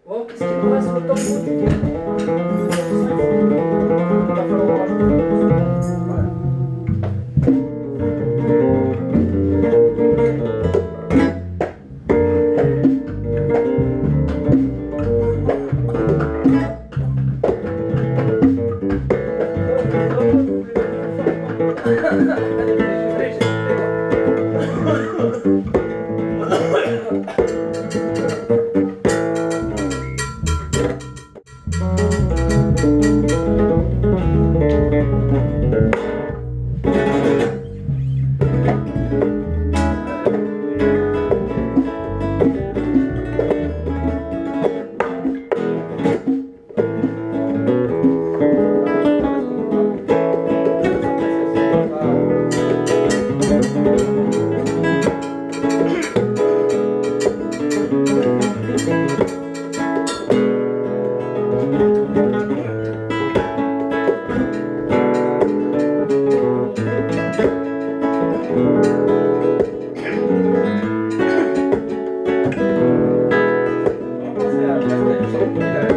Oh, qu'est-ce qu'il me reste autant de il va falloir en rajouter. On va penser à la